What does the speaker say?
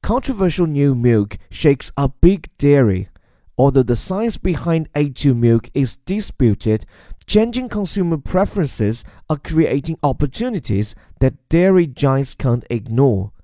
controversial new milk shakes up big dairy. Although the science behind A2 milk is disputed, changing consumer preferences are creating opportunities that dairy giants can't ignore.